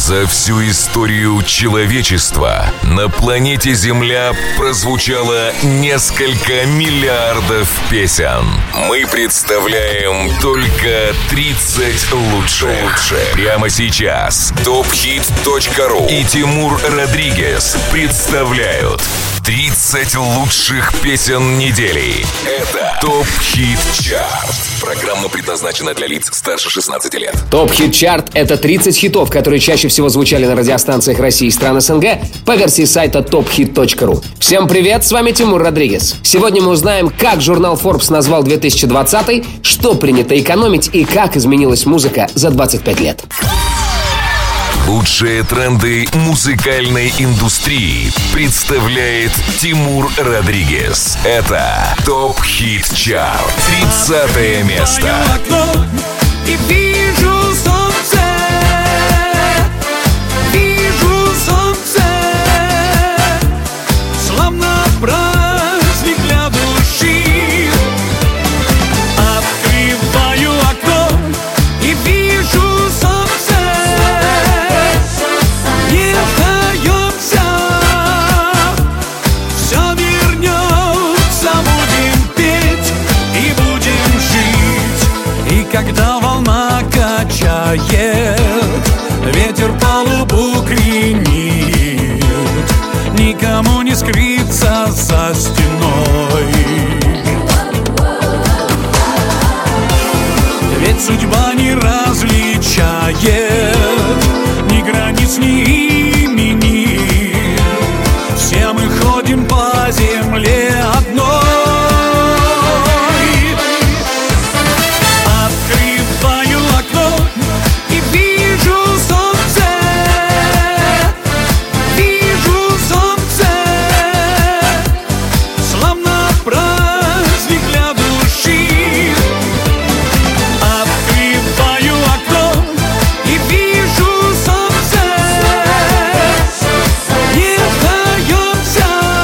За всю историю человечества на планете Земля прозвучало несколько миллиардов песен. Мы представляем только 30 лучших. Прямо сейчас TopHit.ru и Тимур Родригес представляют 30 лучших песен недели. Это ТОП Хит Чарт. Программа предназначена для лиц старше 16 лет. ТОП Хит Чарт — это 30 хитов, которые чаще всего звучали на радиостанциях России и стран СНГ по версии сайта TopHit.ru. Всем привет, с вами Тимур Родригес. Сегодня мы узнаем, как журнал Forbes назвал 2020, что принято экономить и как изменилась музыка за 25 лет. Лучшие тренды музыкальной индустрии представляет Тимур Родригес. Это ТОП Хит Чарт. 30 место. И вижу солнце, вижу солнце, словно праздник для души. Открываю окно и вижу солнце. Не сдаемся, все вернется, будем петь и будем жить. И когда волна качает, ветер палубу кренит, никому не скрыться за стеной. Ведь судьба не различает ни границ, ни имени. Все мы ходим по земле одной. Открываю окно и вижу солнце, вижу солнце, словно праздник для души. Открываю окно и вижу солнце. Не сдаемся,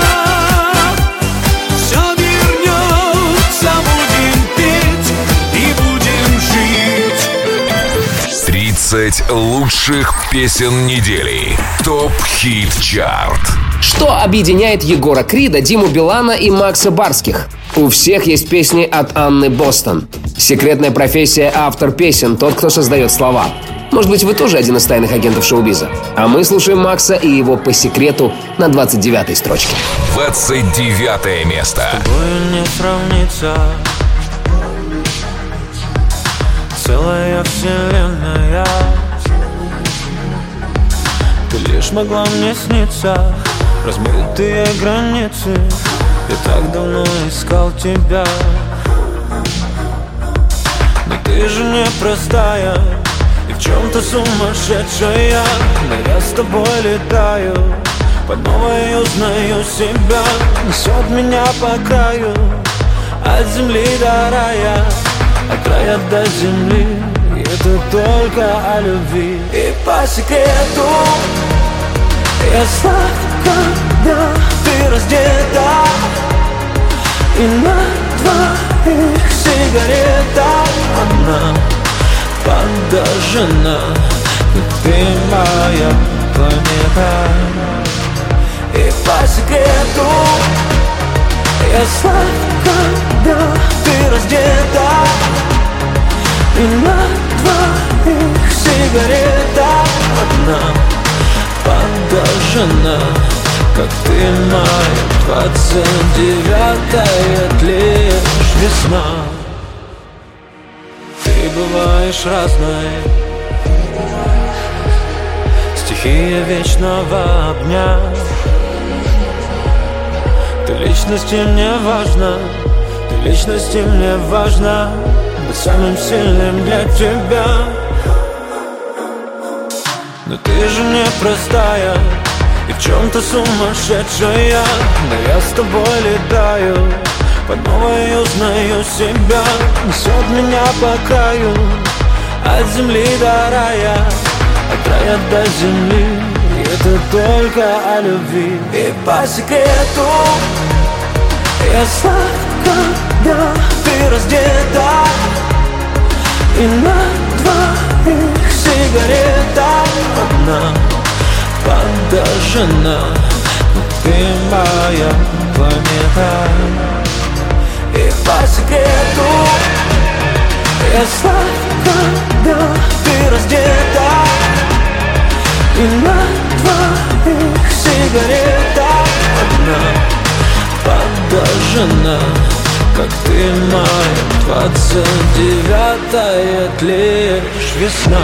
все вернется, будем петь и будем жить. 30 лучших песен недели. ТОП Хит Чарт. Что объединяет Егора Крида, Диму Билана и Макса Барских? У всех есть песни от Анны Бостон. Секретная профессия — автор песен, тот, кто создает слова. Может быть, вы тоже один из тайных агентов шоу-биза? А мы слушаем Макса и его «По секрету» на 29-й строчке. 29 место. Тобою не сравнится целая вселенная. Ты лишь могла мне сниться, размытые границы. Я так давно искал тебя, но ты же непростая и в чем-то сумасшедшая. Но я с тобой летаю, по новой узнаю себя. Несет меня по краю, от земли до рая, от рая до земли. И это только о любви. И по секрету я слышу, когда ты раздета, и на двоих сигарета одна подожжена. Ты моя планета. И по секрету я слышу, когда ты раздета, и на двоих сигарета одна подожжена. Как ты моя 29-я лишь весна. Ты бываешь разной, стихия вечного огня. Ты личности мне важна, ты личности мне важна. Быть самым сильным для тебя. Но ты же непростая и в чем-то сумасшедшая. Но я с тобой летаю, по новой узнаю себя. Несет меня по краю, от земли до рая, от рая до земли. И это только о любви. И по секрету я слышу, когда ты раздета, и на двоих сигарета одна подожжена, но ты моя планета. И по секрету я сладко, когда ты раздета, и на твоих сигаретах одна подожжена, как ты моя 29-я, лишь весна.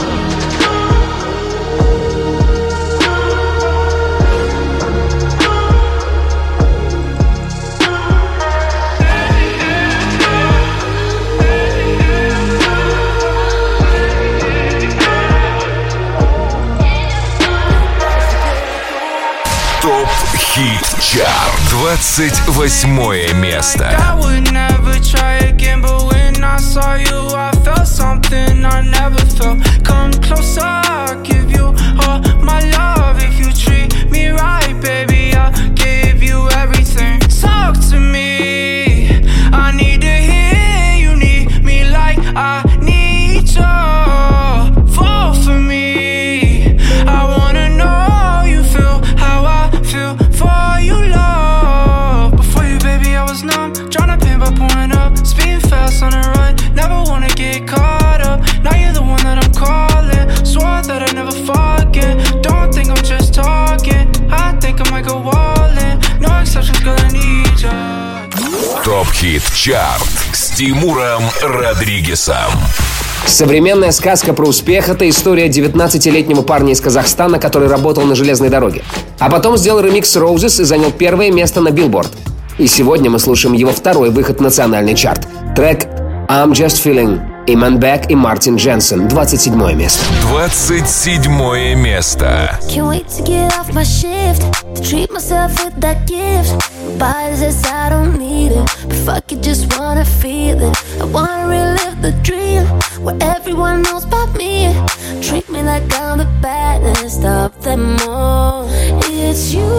Хит-чарт, 28 место. I would never try again, but when I saw you, I felt something I never felt. Come closer, I'll give you all my love. If you treat me right, baby, I'll give you everything. Talk to me, I need to hear you need me like I need you. Fall for me, I wanna know you feel how I feel for you, love. Before you, baby, I was numb, tryna pin by pulling up, speeding fast on the run, never wanna get caught up. Now you're the one that I'm calling, swore that I'd never forget. Don't think I'm just talking, I think I might go all in. No exceptions, girl, I need ya. Топ-хит-чарт с Тимуром Родригесом. Современная сказка про успех – это история 19-летнего парня из Казахстана, который работал на железной дороге. А потом сделал ремикс Roses и занял первое место на Billboard. И сегодня мы слушаем его второй выход в национальный чарт. Трек «I'm Just Feeling» Iman Beck и Мартин Дженсен. 27 место. 27 место. Can't wait to get off my shift, to treat myself with that gift. Body says I don't need it, but fuck it, just wanna feel it. I wanna relive the dream, where everyone knows about me. Treat me like I'm the baddest of them all. It's you,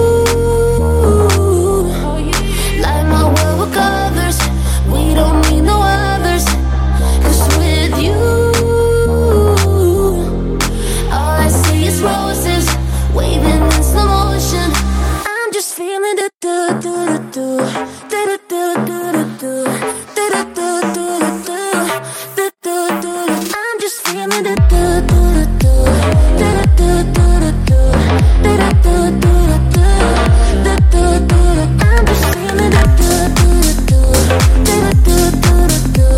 light my world with colors. We don't need no others, 'cause with you, all I see is roses, waving in slow motion. I'm just feeling the do-do-do-do, do-do-do-do-do, do-do-do-do-do, I'm just feeling the do-do-do-do, do-do-do-do-do, do-do-do-do-do, I'm just feeling the do-do-do-do, do-do-do-do-do,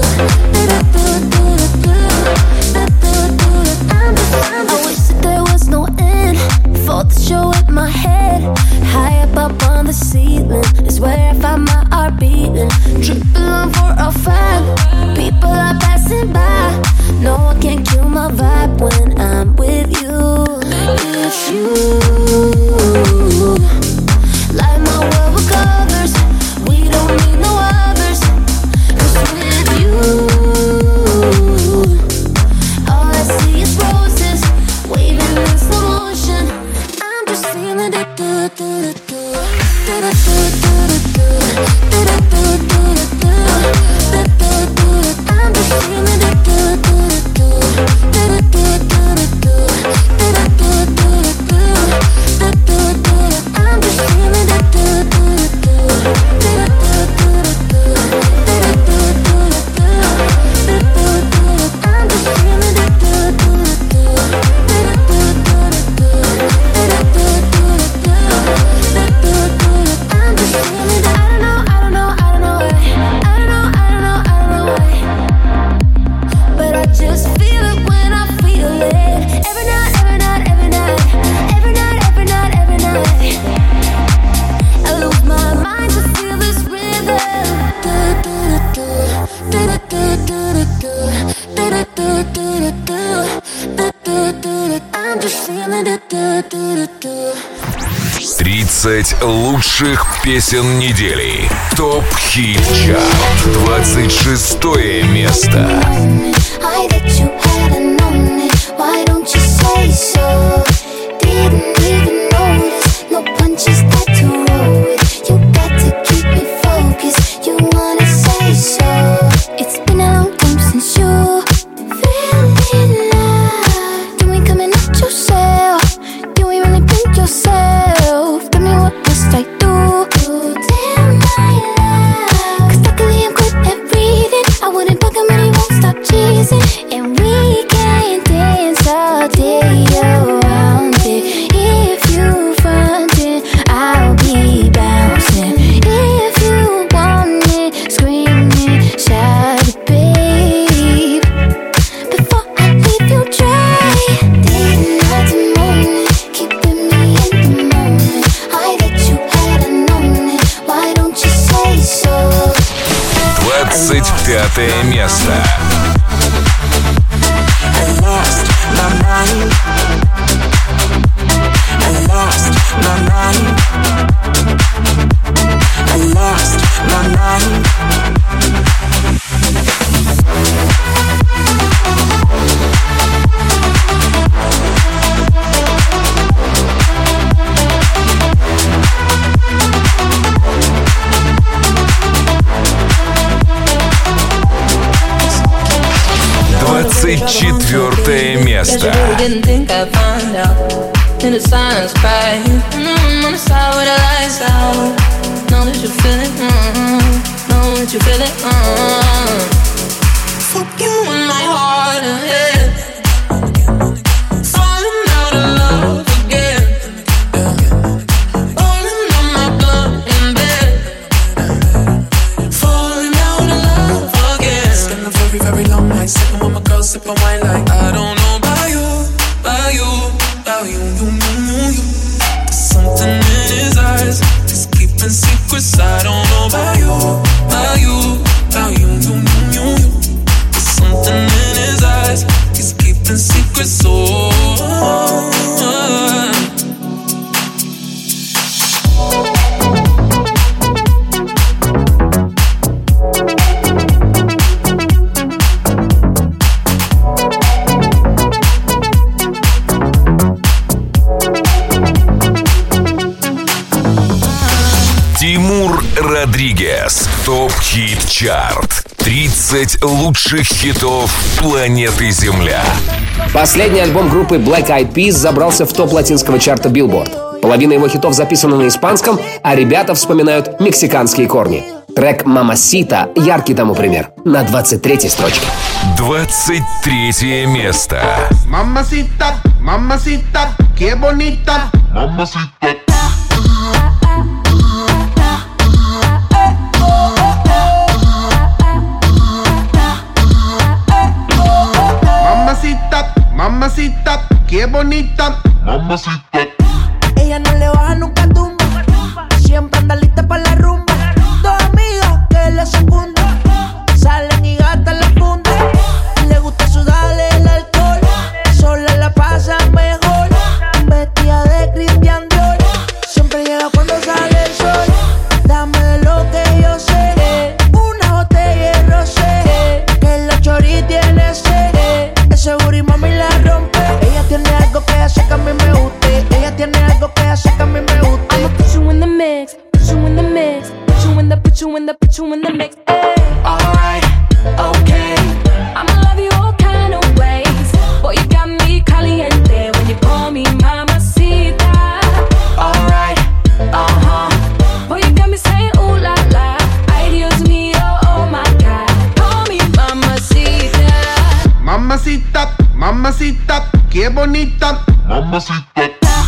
I wish that there was no end for the show in my head. High up on the ceiling is where I find my heart beating. Triple on 405, people are passing by. No one can kill my vibe when I'm with you. It's you, light my world with colors. We don't need no others, 'cause with you, all I see is roses, waving in slow motion. I'm just feeling it, do-do-do-do, do-do-do-do-do, do-do-do-do-do, I'm just feeling it, do-do-do-do, do-do-do-do-do, do-do-do-do-do, I'm just feeling it, do-do-do-do, do-do-do-do-do, I'm just feeling it, do-do-do-do, I'm just feeling it. I don't know why, but I just feel it when I feel it. Every night, every night, every night, every night, every night, every night, I lose my mind to feel this rhythm. Do-do-do-do, do-do-do-do-do, do-do-do-do-do, do-do-do-do, I'm just feeling it. Do-do-do-do. 30 лучших песен недели. Топ-хит-чарт. 26 место. I that you hadn't known it. Why don't you say so? Didn't even notice. No punches that to roll with. You got to keep me focused. You wanna say so? It's been a long time since you feeling love. You ain't coming out yourself. You ain't really been yourself. 25 место. Четвертое место. Sipping wine like I don't know about you, about you, about you. There's something in his eyes, he's keeping secrets. I don't know about you, about you, about you. There's something in his eyes, he's keeping secrets. Тимур Родригес. Топ-хит-чарт. 30 лучших хитов планеты Земля. Последний альбом группы Black Eyed Peas забрался в топ латинского чарта Billboard. Половина его хитов записана на испанском, а ребята вспоминают мексиканские корни. Трек «Мамасита» — яркий тому пример. На 23-й строчке. 23 место. Mamacita, mamacita, qué bonita. Mamacita. Mamacita, qué bonita. Mamacita. Ella no le baja nunca tumba. Siempre anda lista para la rumba. Dos amigas que la secundan. Salen y gastan la funda. Le gusta sudarle el alcohol. Sola la pasa mejor. Vestida de Christian Dior. Siempre llega cuando sale el sol. Dame de lo que yo sé. Una botella de rosé. Que la chori tiene sed. Ese booty mami la rompe. Ella tiene algo que hace que a mí me guste. Ella tiene algo que hace que a mí me guste. I'ma put you in the mix, put you in the mix, put you in the, put you in the, put you in the mix. Alright, okay. I'ma love you all kind of ways. Boy, you got me caliente when you call me mamacita. Alright, Boy, you got me saying ooh la la. Ay, Dios mío, oh my God. Call me mamacita. Mamacita, mamacita, qué bonita. Mamacita.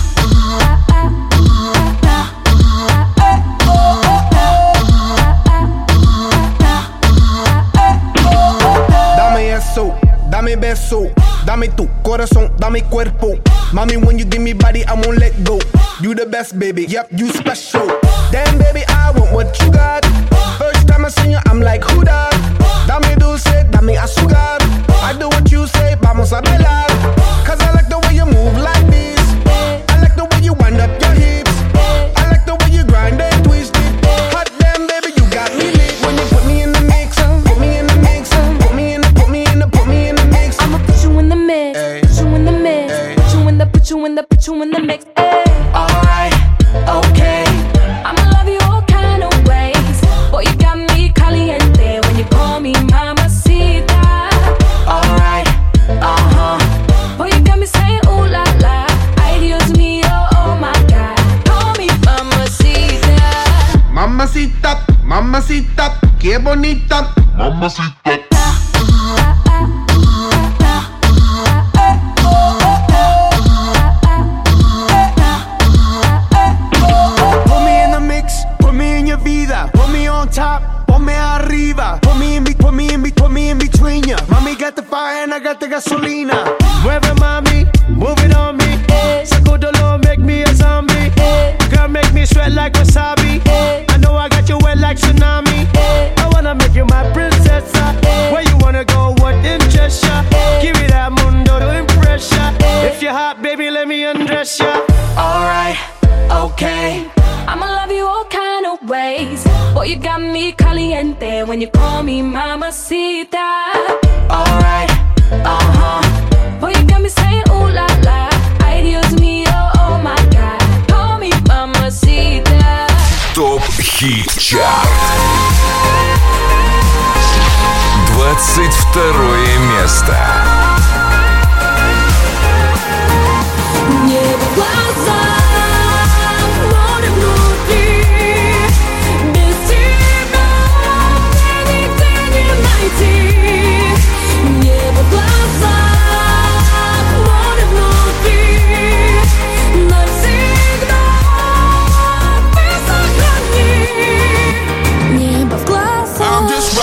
Dame eso, dame beso, dame tu corazón, dame cuerpo. Mommy, when you give me body, I won't let go. You the best, baby, yep, you special. Damn, baby, I want what you got. First time I seen you, I'm like, who that? Dame dulce, dame azúcar. I do what you say, vamos a bailar. Cause I like the way you move like this. I like the way you wind up your hips. I like the way you grind and twist it. Hot damn, baby, you got me lit. When you put me in the mix, put me in the mix, put me in the, put me in the, put me in the mix. I'ma put you in the mix, put you in the mix, put you in the, put you in the, put you in the mix. alright, okay. I'ma love you all kind of ways. Boy, you got me caliente when you call me mamacita. Alright, Boy, you got me saying ooh la la. Ay, Dios mío, oh my God. Call me mamacita. Mamacita, mamacita, qué bonita. Mamacita. Put me in the mix, put me in your vida. Put me on top, ponme arriba. Put me in between ya. Mami got the fire and I got the gasolina. Mueve mami, move it on me. Sacudolo, make me a zombie. Girl, make me sweat like wasabi. I know I got you wet like tsunami. I wanna make you my princess. just your alright, okay. I'ma love you all kind of ways. Boy, you got me caliente when you call me mamacita. Alright, Boy, you got me saying ooh la la. Ay, Dios mío, oh my God. Call me mamacita. ТОП Хит Чарт. 22 место. Небо в глазах, море внутри. Без тебя мне нигде не найти. Небо в глазах, море внутри. Навсегда ты сохрани. Небо в глазах.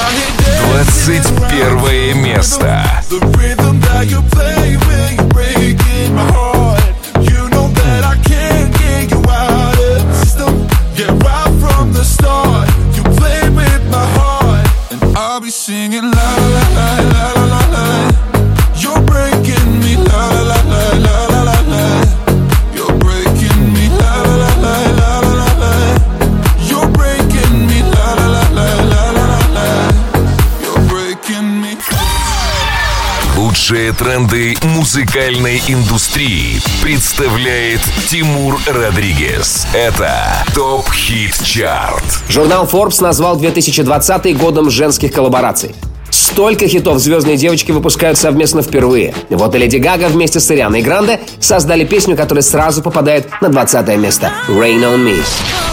21 место. The rhythm that you play when you're breaking my heart. You know that I can't get you out of the system. Yeah, right from the start, you play with my heart, and I'll be singing la la la la la la la. You're breaking me la la la la la la la. You're breaking me la la la la la la la. You're breaking me la la la la la la la. You're breaking me. Лучшие тренды музыкальной индустрии представляет Тимур Родригес. Это ТОП Хит Чарт. Журнал Forbes назвал 2020 годом женских коллабораций. Столько хитов звездные девочки выпускают совместно впервые. Вот и Леди Гага вместе с Арианой Гранде создали песню, которая сразу попадает на 20 место. Rain on Me.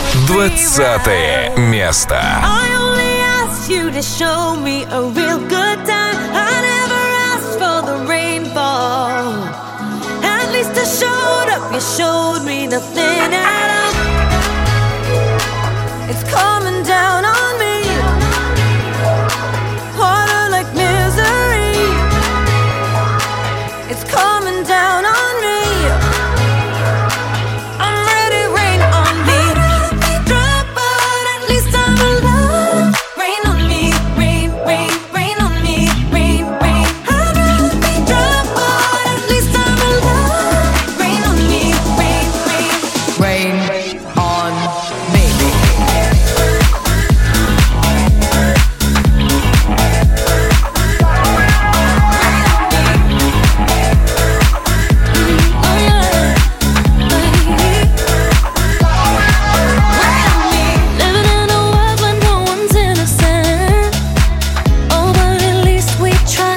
20 место. I only asked you to show me a real good time. I never asked for the rainfall. At least I showed up, you showed me nothing at all. It's coming down on me. Harder like misery. It's coming down on me. I'm ready, rain on me. Drop, but at least I'm alive. Rain on me, rain, rain, rain on me, rain, rain. I'd rather be drop, but at least I'm alive. Rain on me, rain, rain. rain on me. Living in a world where no one's innocent. Oh, but at least we try.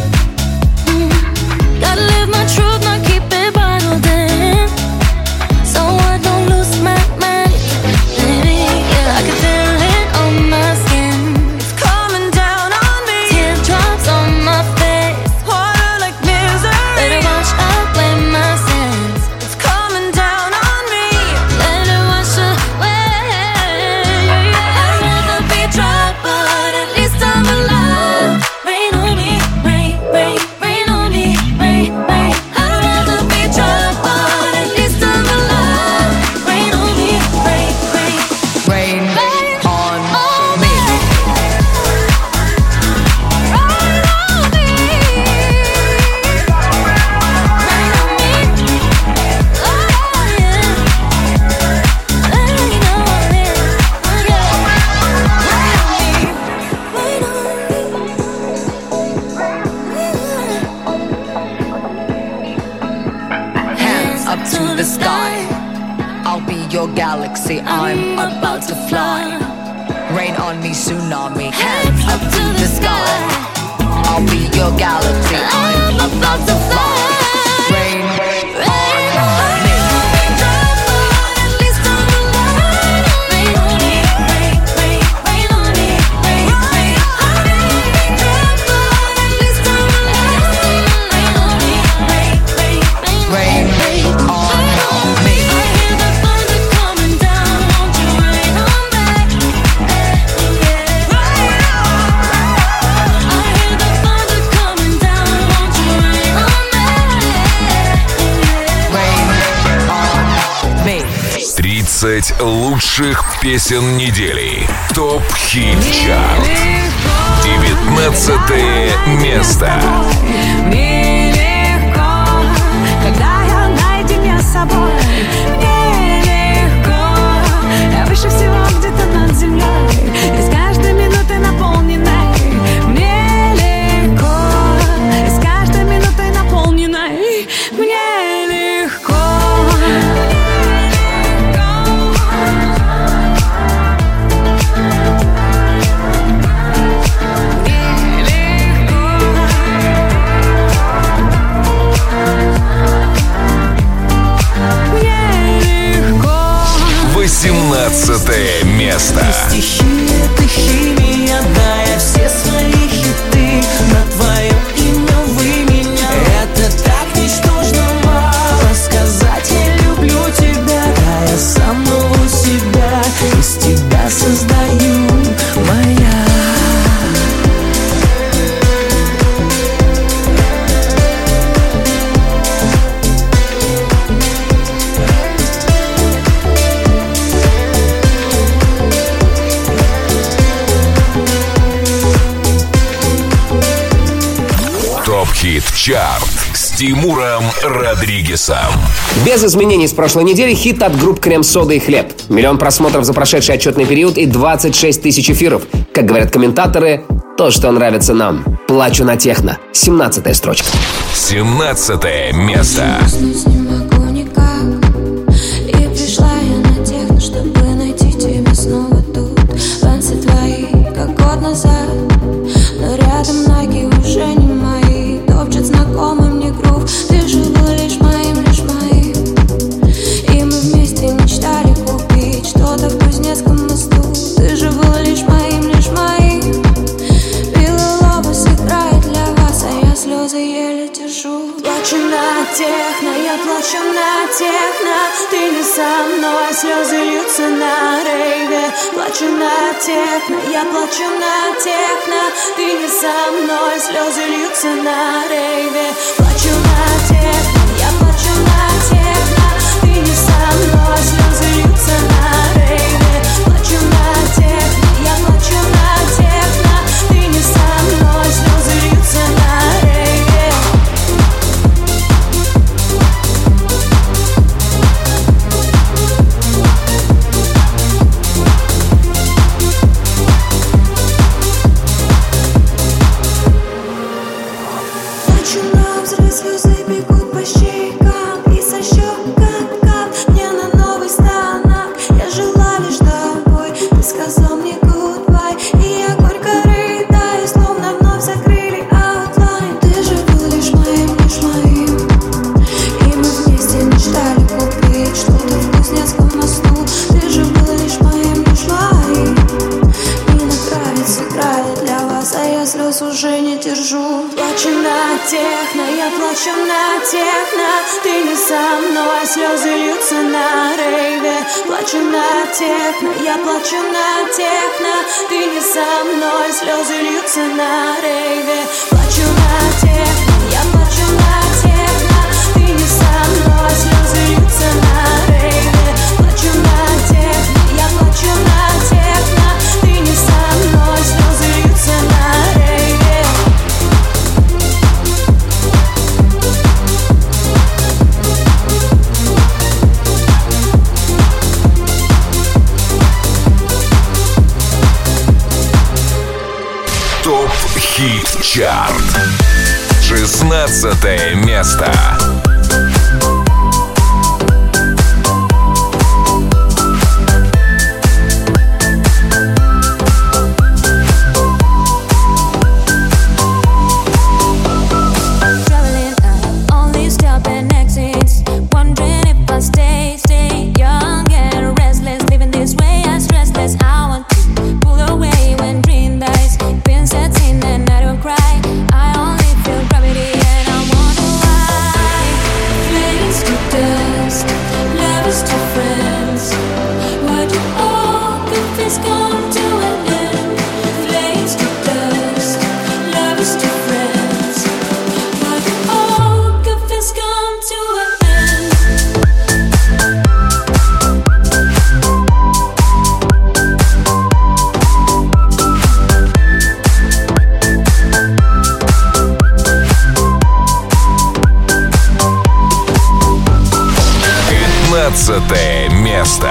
Gotta live my truth, not keep it bottled in. So I don't lose my mind. Yeah, I can feel it on my skin. It's coming down on me. Teardrops on my face. Harder like misery. Let it wash away my sins. It's coming down on me. Let it wash away. I'd rather be dry, but at least I'm alive. Rain on me, rain, rain, rain on me, rain, rain. I'd rather be dry, but at least I'm alive. Rain on me, rain, rain. Rain on me. Hands up to the sky. I'll be your galaxy. I'm about to fly. Rain on me, tsunami. Hands up to the sky. I'll be your galaxy. I'm about to fly. Rain on me. Rain on me. Me. 30 лучших песен недели. ТОП Хит Чарт. 19 место. Нелегко, когда я наедине с собой. Мне легко, я выше всего где-то над землей, и с каждой минутой наполненной. Мне легко, и с каждой минутой наполненной. Мне легко. Восемнадцатое место. Ты стихия, ты химия, да, я все свои хиты на твое имя вы меня. Это так ничтожно мало сказать, я люблю тебя, да, я самого себя из тебя создаю, моя. Хит-чарт с Тимуром Родригесом. Без изменений с прошлой недели хит от групп «Крем-сода» и «Хлеб». 1 миллион просмотров за прошедший отчетный период и 26 тысяч эфиров. Как говорят комментаторы, то, что нравится нам. «Плачу на техно». 17-я строчка. 17-е место. И пришла я на техно, чтобы найти тебя снова тут. Танцы твои, как год назад, но рядом ноги уже не мои. Топчет знакомый мне грув. Ты же был лишь моим, лишь моим. И мы вместе мечтали купить что-то в Кузнецком мосту. Ты же был лишь моим, лишь моим. Белый лобос играет для вас, а я слезы еле держу. Плачу на техно, я плачу на техно. Ты не со мной, слезы льются на рейве. Плачу на техно, я плачу на техно. Ты не со мной, слезы льются на рейве. Плачу на техно, я плачу на техно. Ты не со мной, слезы льются на рейве. Плачу на техно, я плачу на техно. Ты не со мной, слезы льются на рейве. Слезы бегут по щекам и со щек кап-кап. Мне на новый станок, я жила лишь тобой. Ты сказал мне goodbye, и я горько рыдаю, словно вновь закрыли аутлайн. Ты же был лишь моим, лишь моим. И мы вместе мечтали купить что-то в Кузнецком мосту. Ты же был лишь моим, лишь моим. Мне нравится, играет для вас, а я слез уже не держу. Плачу на техно, я плачу на техно. Ты не со мной, слезы льются на рейве. Плачу на техно, я плачу на техно. Ты не со мной, слезы льются на рейве. Плачу на техно, я плачу на техно. Ты не со мной, слезы льются на рейве. Плачу на техно, я плачу на техно. Ты не со мной, слезы льются на рейве. ТОП Хит-чарт. 16-е место. And I don't cry. I only feel gravity and I wonder why. 17 место.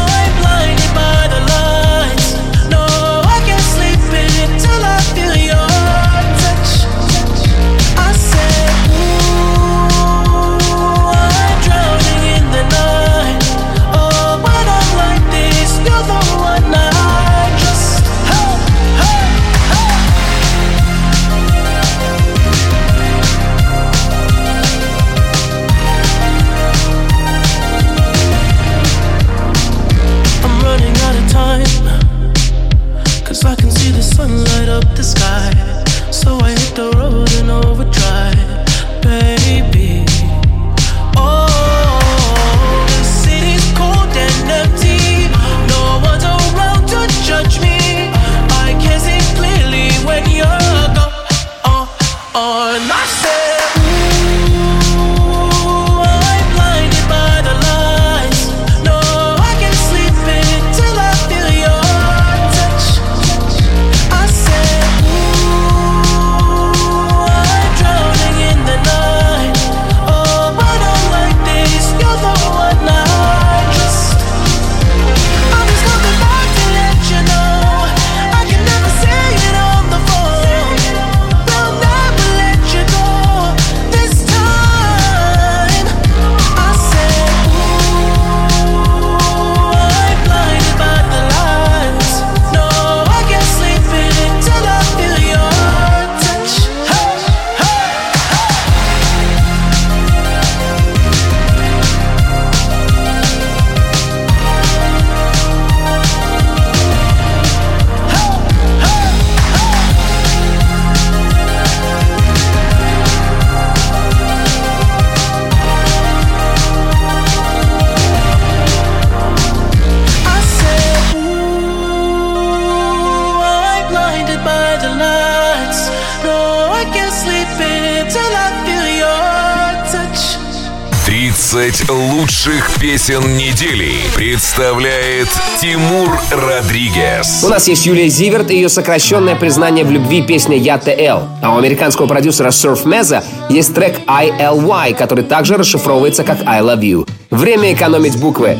Лучших песен недели представляет Тимур Родригес. У нас есть Юлия Зиверт и ее сокращенное признание в любви песня «Я ТЛ». А у американского продюсера Surf Meza есть трек ILY, который также расшифровывается как I Love You. Время экономить буквы.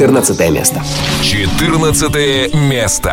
14 место. 14 место.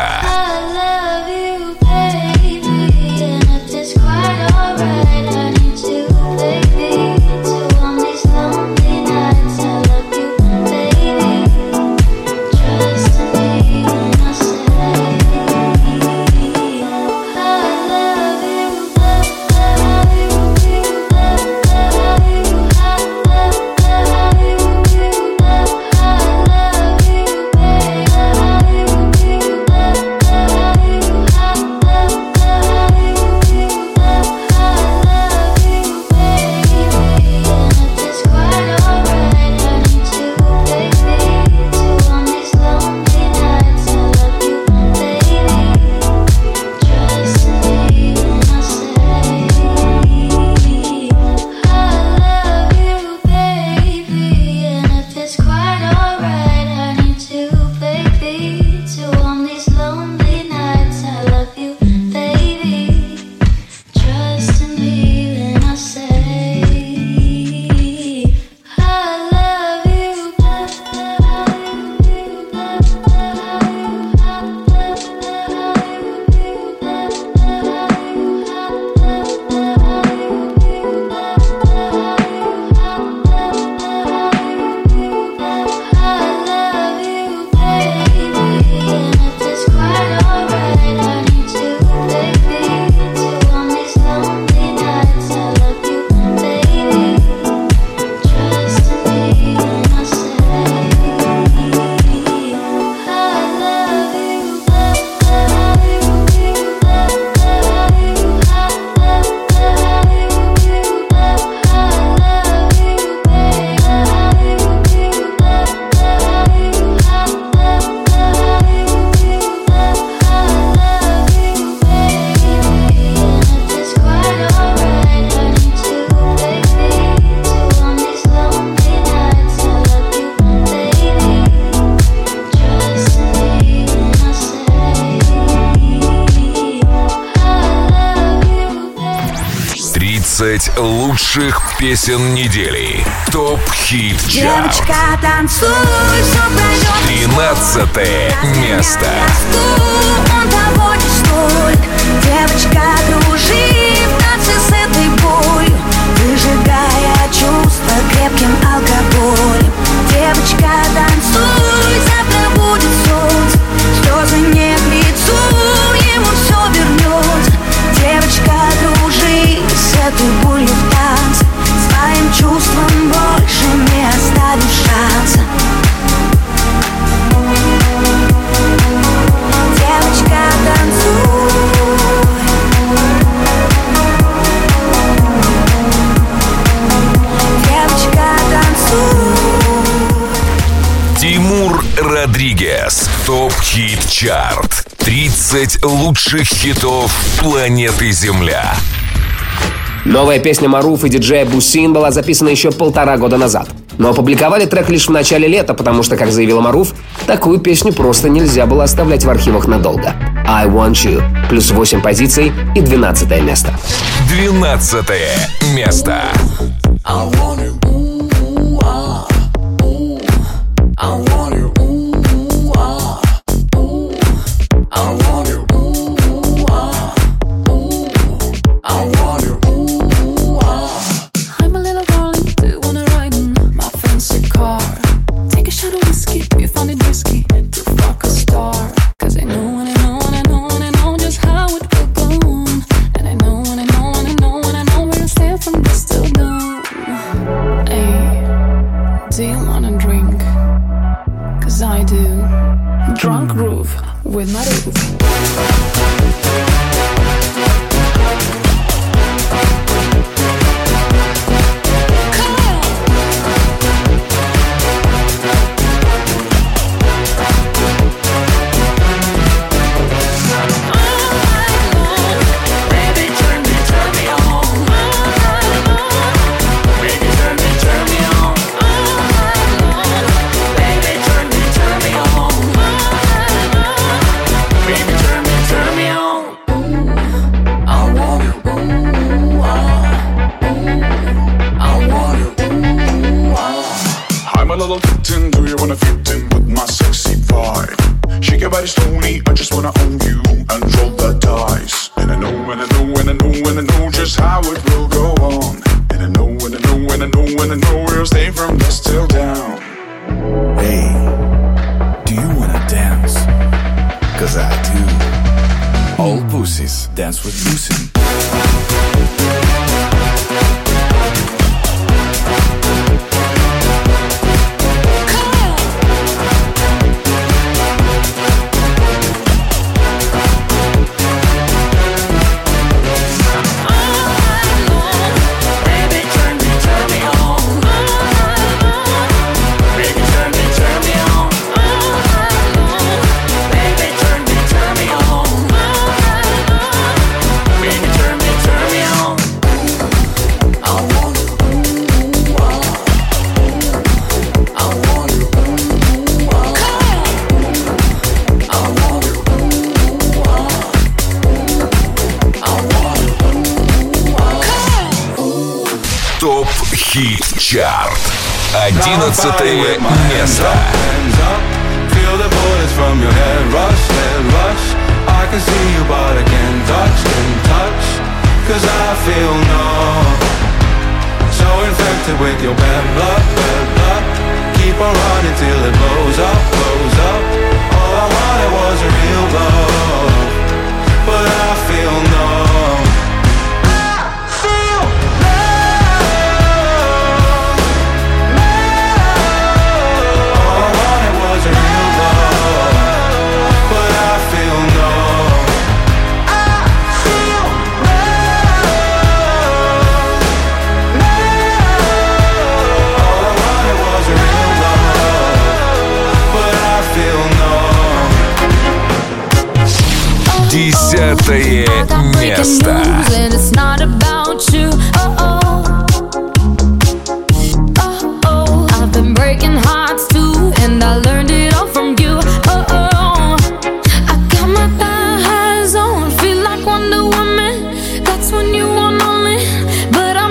20 лучших песен недели. ТОП-хит чарт. Девочка, танцуй, все пройдет. 13 место. Он того не стоит. Девочка, дружи в танце с этой болью, выжигая чувства крепким алкоголем. Девочка, танцуй, завтра будет солнце, слезы не к лицу, ему все вернется. Девочка, дружи с этой болью в танце, своим чувствам больше не оставишь шанса. Девочка, танцуй. Девочка, танцуй. Тимур Родригес. ТОП-хит чарт. 30 лучших хитов планеты Земля. Новая песня Маруф и диджея Бусин была записана еще 1,5 года назад. Но опубликовали трек лишь в начале лета, потому что, как заявила Маруф, такую песню просто нельзя было оставлять в архивах надолго. I Want You. Плюс 8 позиций и 12 место. 12 место. With Maruv. Dance with Boosin'. ТОП-хит чарт. 11 место. Feel the bullets from your head rush. I can see you but I can't touch. Cause I feel numb. So infected with your bad blood. Keep on running till it blows up. All I wanted was a real love, but I feel numb. Десятое место. I've been breaking hearts too, and I learned it all from you. I got my thighs on, feel like Wonder Woman. That's when you want only, but I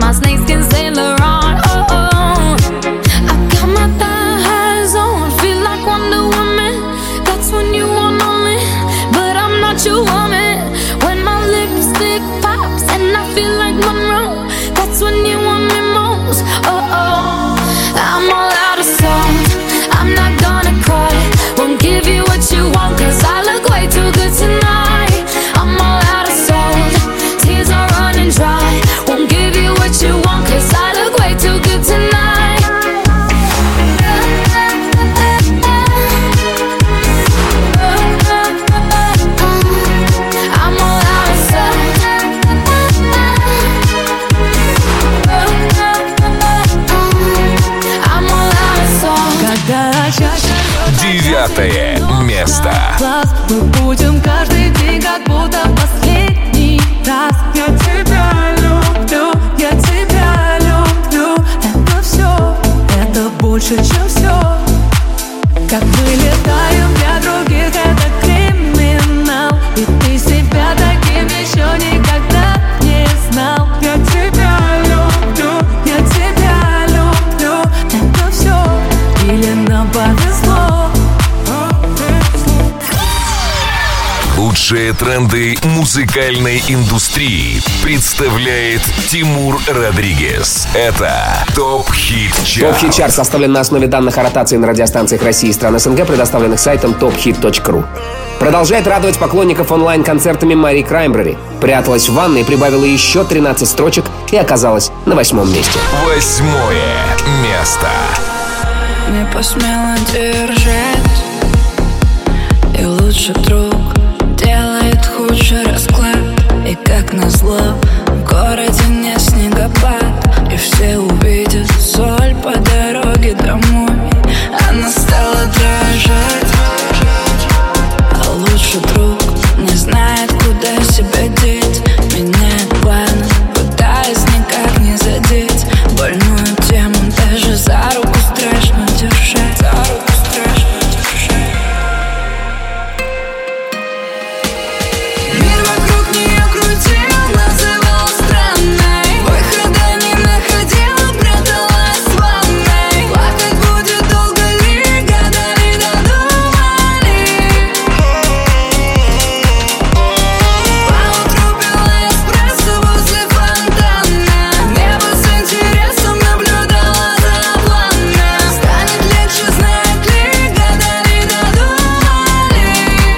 my snakeskin Saint Laurent. Oh, oh. I got my thighs on, feel like Wonder Woman. That's when you want me, but I'm not your woman. When my lipstick pops and I feel like Monroe, that's when you want me most. Oh, oh. I'm all out of salt, I'm not gonna cry. Won't give you what you want, cause I look way too good tonight. I'm all out of salt, tears are running dry. Won't give you what you want, cause I look way too good tonight. I'm all out of salt. I'm all out of salt. Когда чаще 9 место. глаз, мы будем каждый день как будто последний раз. Я тебя люблю, я тебя люблю. Это все, это больше, чем все. Как мы летаем для других, это криминал. И ты себя таким еще никогда не знал. Я тебя люблю, я тебя люблю. Это все, или нам повезло. Лучшие тренды музыкальной индустрии представляет Тимур Родригес. Это ТОП Хит Чарт. ТОП Хит Чарт составлен на основе данных о ротации на радиостанциях России и стран СНГ, предоставленных сайтом tophit.ru. Продолжает радовать поклонников онлайн-концертами Мари Краймбрери. Пряталась в ванной, прибавила еще 13 строчек и оказалась на 8 месте. 8 место. Не посмела держать, и лучший друг делает худший расклад. И как назло, в городе не снегопад, и все увидят соль по дороге домой. Она стала дрожать, а лучший друг не знает, куда себя деть. Меняет планы, пытаясь никак не задеть больную тему, даже за руку страшно держать. За руку страшно держать. Мир вокруг нее крутил, называл странной, выхода не находила, пряталась в ванной. Плакать будет долго ли, гадали, додумали. Поутру пила эспрессо возле фонтана, небо с интересом наблюдала за плана. Станет легче, знает ли, гадали, додумали.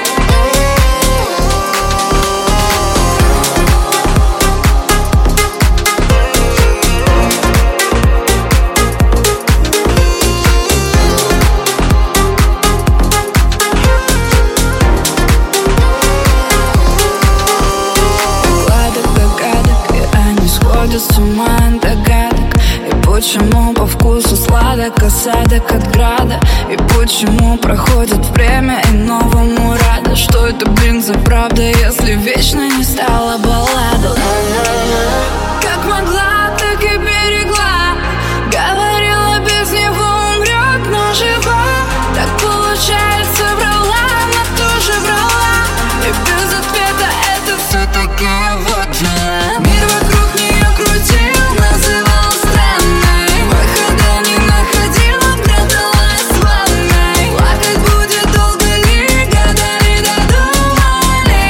Гладок догадок, и они сходят с ума от догадок. И почему по вкусу сладок осадок от града? И почему проходит время и новому рада? Что это, блин, за правда, если вечно не стала баллада? Как могла, так и берегла. Говорила, без него умрет, но жива. Так получается, врала, она тоже врала. И без ответа это все-таки вот она. Мир вокруг нее крутил, называл странной, выхода не находила, пряталась в ванной. Плакать будет долго ли, гадали, додумали.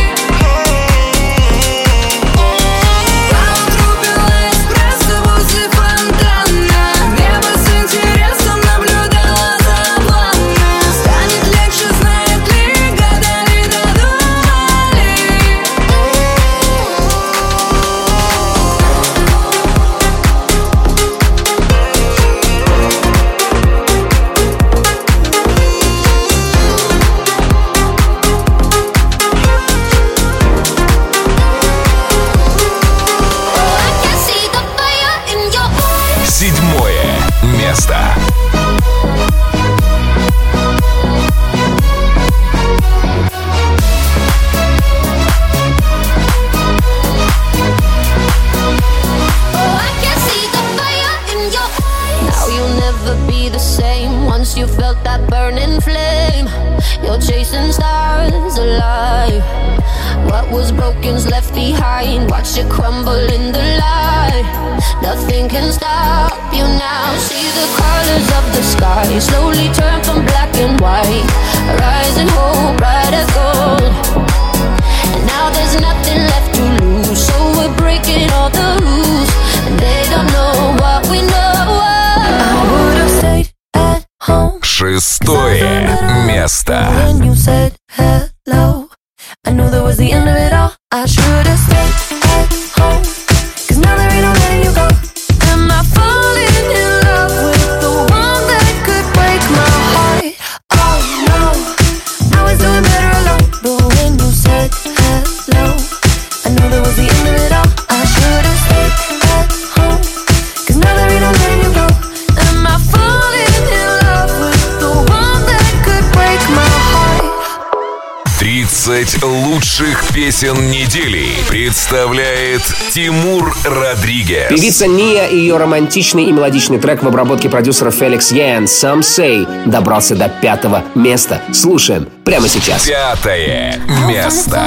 Поутру пила эспрессо возле фонтана, небо с интересом наблюдала за плана. Станет легче, знает ли, гадали, додумали. I can see the fire in your eyes. 7 место. Oh, I can see the fire in your eyes. Now you'll never be the same once you felt that burning flame. You're chasing stars alive. What was broken's left behind. Watch it crumble in the light. You slowly turn from black and white, rising hope, bright as gold. And now there's nothing left to lose, so we're breaking all the rules, and they don't know what we know. I would've stayed at home. Шестое место. When you said hello, I knew that was the end of it all. I should've stayed at home, 'cause now there ain't no letting you go. Am I falling in love with the one that could break my heart? Oh no, I was doing better alone. But when you said hello, I knew that was the end of it all. I should've stayed at home, 'cause now there ain't no letting you go. Am I falling in love with the one that could break my heart? 30 лучших песен недели представляет Тимур Родригес. Певица Ния и ее романтичный и мелодичный трек в обработке продюсера Феликс Ян «Some Say» добрался до 5-го места. Слушаем прямо сейчас. 5-е место.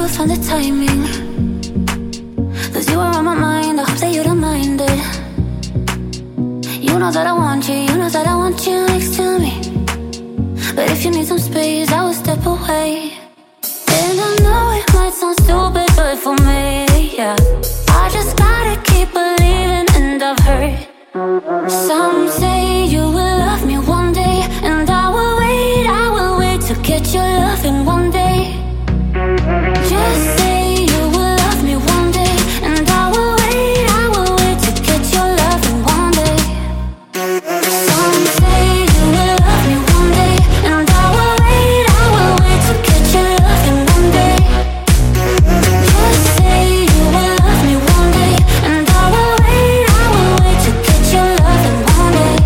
You know that I want you, you know that I want you next to me. But if you need some space, I will step away. And I know it might sound stupid, but for me, yeah, I just gotta keep believing, and I've heard some say you will love me one day, and I will wait to get your loving one day. Just say you will love me one day, and I will wait to get your loving one day. Some say you will love me one day, and I will wait to get your loving one day. Just say you will love me one day, and I will wait to get your loving one day.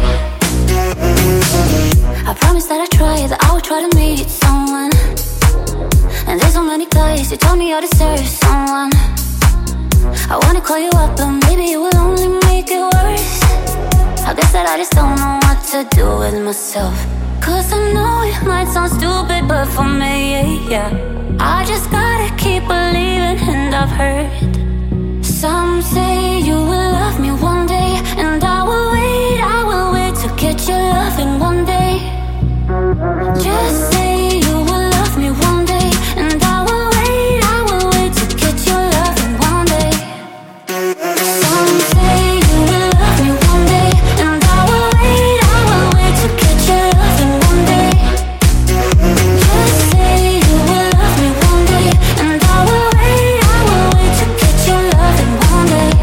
I promise that I try, that I will try to meet someone. And there's so many guys who told me I deserve someone. I wanna call you up, but maybe it will only make it worse. I guess that I just don't know what to do with myself. 'Cause I know it might sound stupid, but for me, yeah, I just gotta keep believing, and I've heard some say you will love me one day, and I will wait to get your loving one day. Just say you will love me one day, and I will wait to get your loving one day. Some say you will love me one day, and I will wait to get your loving one day. Just say you will love me one day, and I will wait to get your loving one day.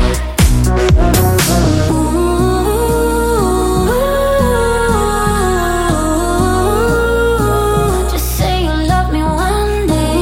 Just say you love me one day.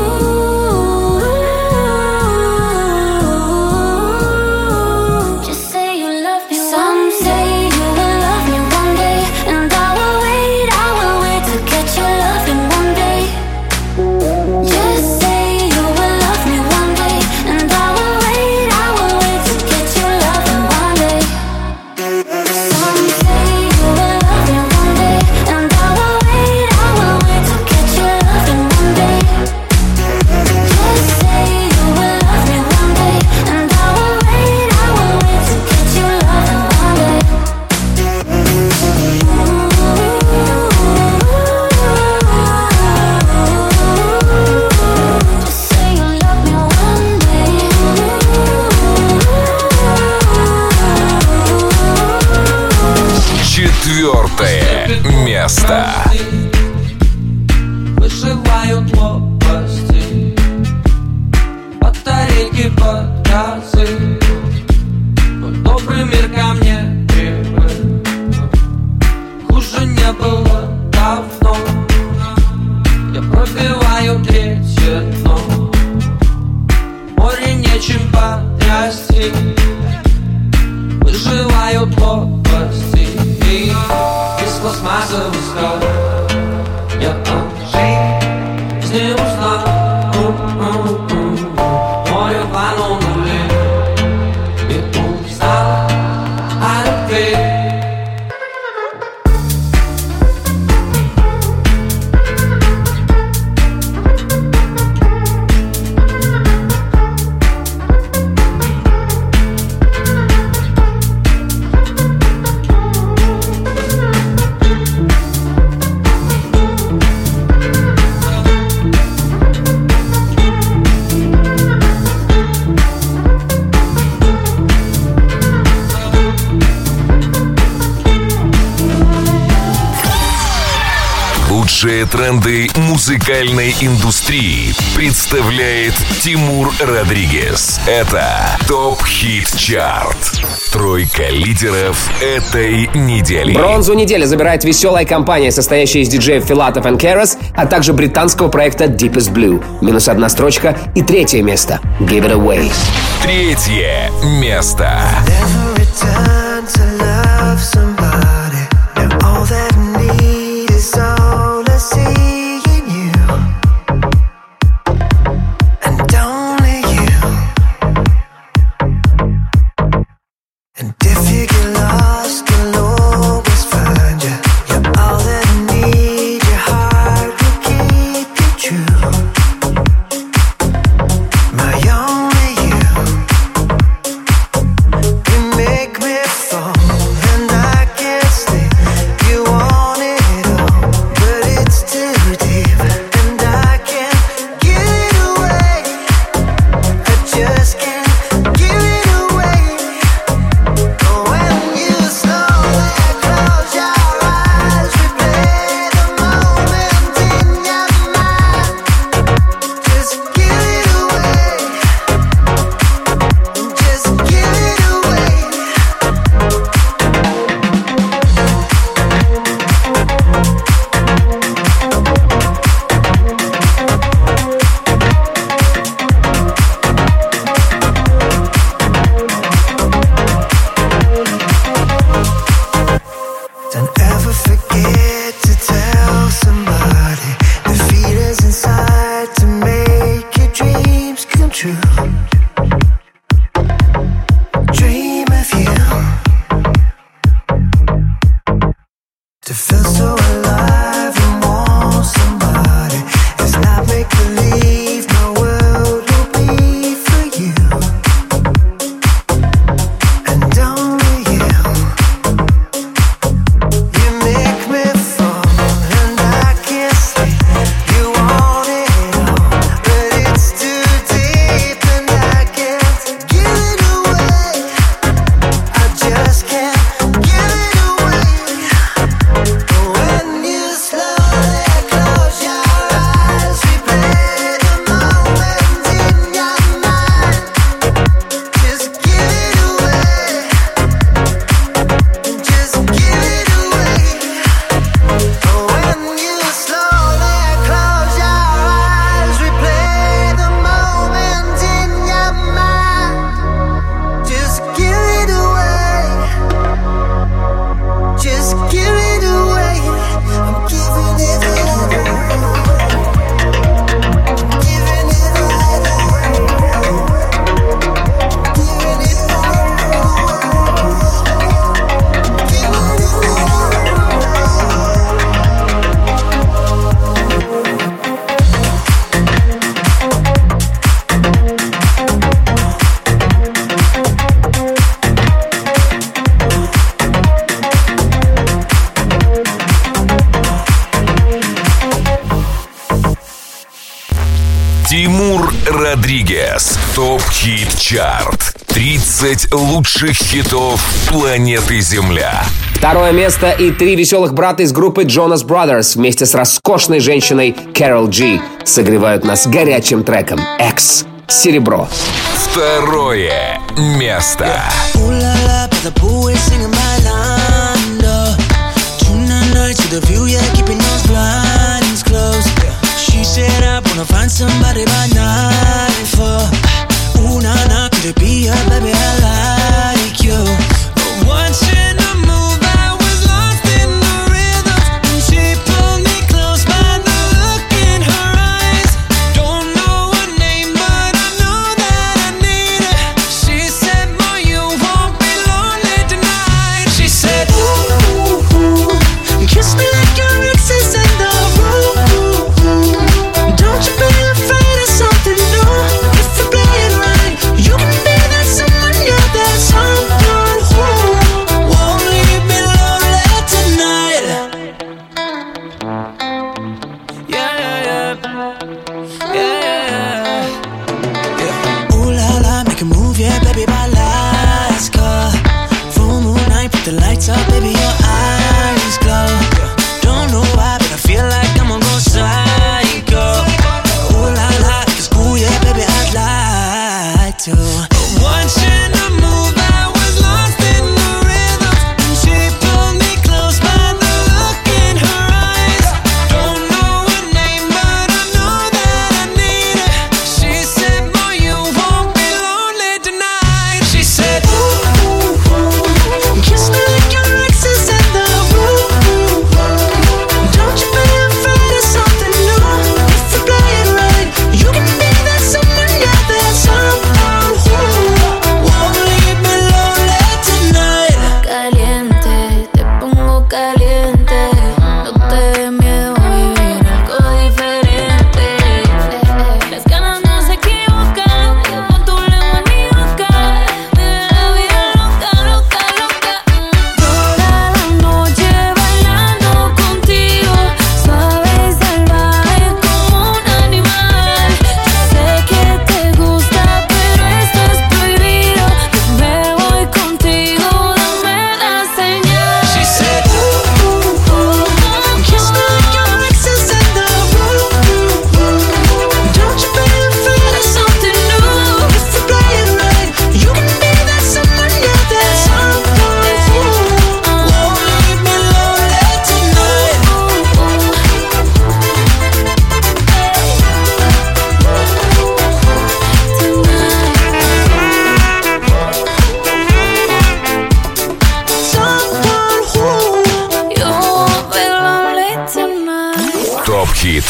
Just say you love me. Some say you will love me one day, and I will wait to get your loving one day. Just say you will love me one day, and I will wait to get your loving one day. Some say you will love me one day, and I will wait to get your loving one day. Just say you will love me one day, and I will wait to get your loving one day. Just say you love me one day. Четвертое место. Вышивают лопасти, батарейки под газы. Добрый мир ко мне привык, хуже не было давно. Я пробиваю третье дно, море нечем потрясти. Выживают лопасти из пластмассовых скал. Я о жизни узнал, море планули и узнал о любви. Лучшие тренды музыкальной индустрии представляет Тимур Родригез. Это ТОП Хит Чарт. Тройка лидеров этой недели. Бронзу недели забирает веселая компания, состоящая из диджеев Филатов и Keras, а также британского проекта Deepest Blue. Минус одна строчка. И третье место. Give It Away. Третье место. Тимур Родригез. ТОП Хит Чарт. 30 лучших хитов планеты Земля. Второе место и 3 веселых брата из группы Jonas Brothers вместе с роскошной женщиной Carol G согревают нас горячим треком X. Серебро. Второе место. Find somebody by night for ooh, nah, nah, could it be her, baby, I like you. But watching her move, I was lost in the rhythm. And she pulled me close by the look in her eyes. Don't know her name, but I know that I need her. She said, boy, you won't be lonely tonight.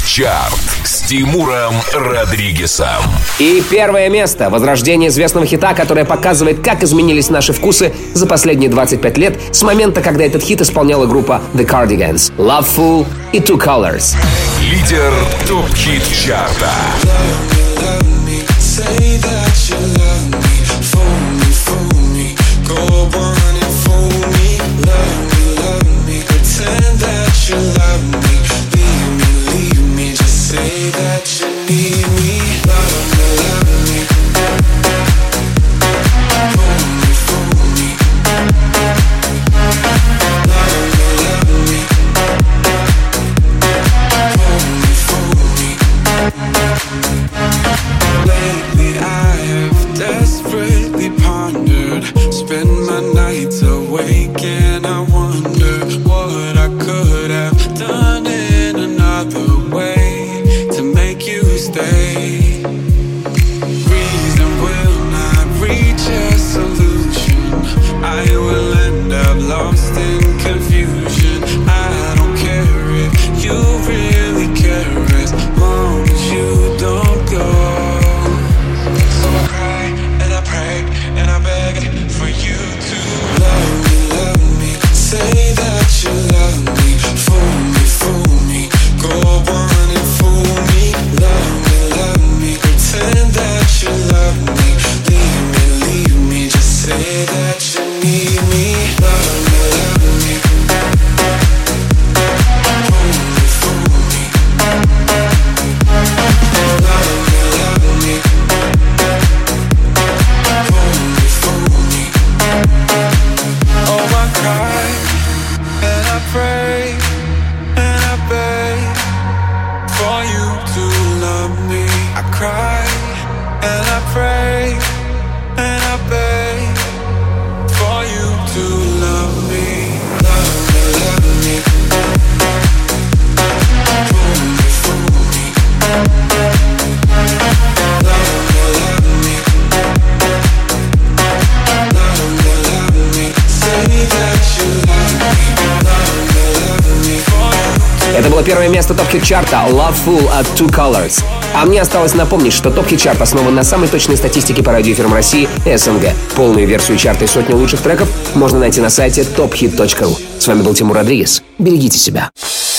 ТОП-ХИТ-ЧАРТ с Тимуром Родригесом. И первое место — возрождение известного хита, которое показывает, как изменились наши вкусы за последние 25 лет с момента, когда этот хит исполняла группа The Cardigans. Loveful и Two Colors. Лидер ТОП-ХИТ-ЧАРТа. Это было первое место ТОП-ХИТ-ЧАРТа Loveful от Two Colors. А мне осталось напомнить, что ТОП-ХИТ-ЧАРТ основан на самой точной статистике по радиоэфирам России и СНГ. Полную версию чарта и сотни лучших треков можно найти на сайте tophit.ru. С вами был Тимур Родригес. Берегите себя.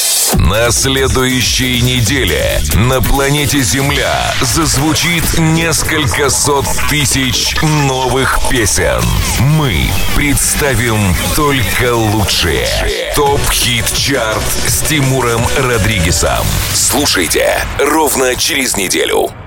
На следующей неделе на планете Земля зазвучит несколько сот тысяч новых песен. Мы представим только лучшие. ТОП-ХИТ-ЧАРТ с Тимуром Родригесом. Слушайте ровно через неделю.